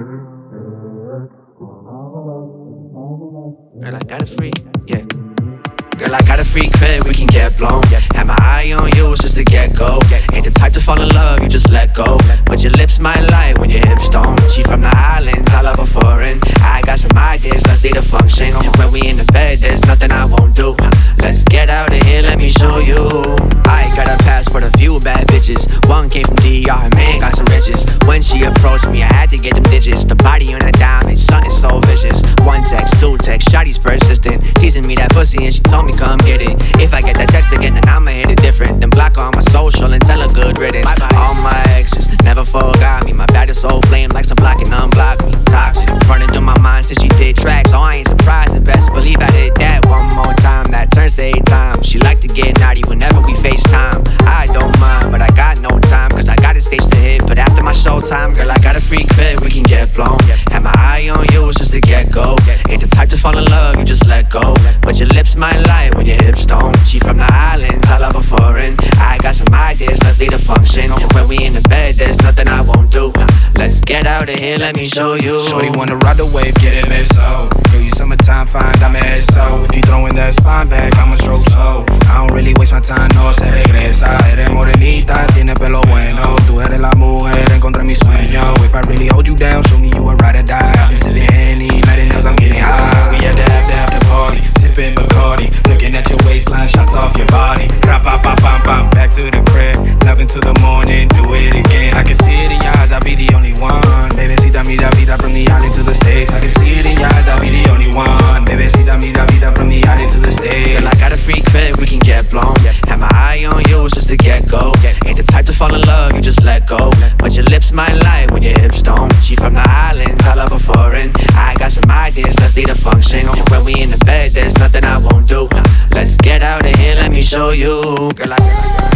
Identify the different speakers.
Speaker 1: Girl, I got a free, yeah. Girl, I got a free crib, we can get blown. Had my eye on you since the get-go. Ain't the type to fall in love, you just let go. But your lips might lie when your hips don't. She from the islands, I love her foreign. I got some ideas, let's lead a function. When we in the bed, there's nothing I won't do. Let's get out of here, let me show you. I got a pass for the few bad bitches. One came from DR, man, got some riches. When she approached me, I had to get them digits. The body on a diamond, something so vicious. One text, two text, shawty's persistent. Teasing me that pussy and she told me come get it. If I get that text again, then I'ma hit it different. Then block her on my social and tell her good riddance. Bye-bye. All my exes never forgot me. My bad is so flame like some block and unblock me. Toxic, running through my mind since she did tracks. Oh, I ain't surprised, and best believe I did that one more time. That turns to 8 times. She like to get naughty whenever we FaceTime. I don't mind, but I got no time, cause I got a stage to hit. But after my showtime, girl, I got a free crib, we can get blown. Had my eye on you since the get-go. Ain't the type to fall in love, you just let go. But your lips might lie when your hips don't. She from the islands, I love her foreign. I got some ideas, let's lead a function. When we in the bed, there's nothing I won't do. Let's get out of here, let me show you.
Speaker 2: Shorty wanna ride the wave, get it, let's so. Girl, you summertime fine, dame eso. If you throwing that spine back, I'ma stroke slow. I don't really waste my time, no se regresa. Eres morenita, tiene pelo bueno. Tú eres la mujer, encontré mi sueño. If I really hold you down, show me you a ride or die. I've been sipping Henny, letting knows I'm getting high. We had to have the after party, sipping Bacardi. Looking at your waistline, shots off your body. Rap-a-pa-pam-pam, back to the crib. 11 to the morning, do it again. I can see it in your eyes, I'll be the only one. Bebecita, mi vida from the island to the States. I can see it in your eyes, I'll be the only one. Bebecita, mi vida from the island to the States.
Speaker 1: Girl, I got a free crib, we can get blown. Had my eye on you since the get-go. Ain't the type to fall in love, you just let go. But your lips might lie when your hips don't. She from the islands, I love her foreign. I got some ideas, let's lead a function. When we in the bed, there's nothing I won't do. Let's get out of here, let me show you. Girl, I